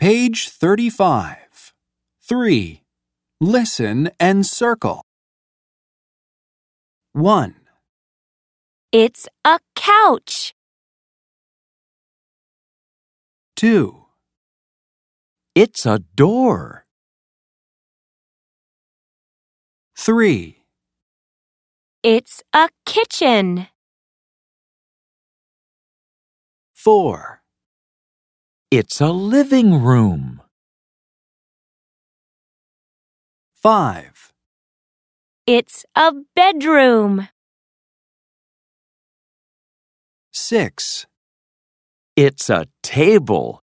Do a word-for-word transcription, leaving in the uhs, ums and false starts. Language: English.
Page thirty-five. three. Listen and circle. one. It's a couch. two. It's a door. three. It's a kitchen. four. It's a living room. five. It's a bedroom. six. It's a table.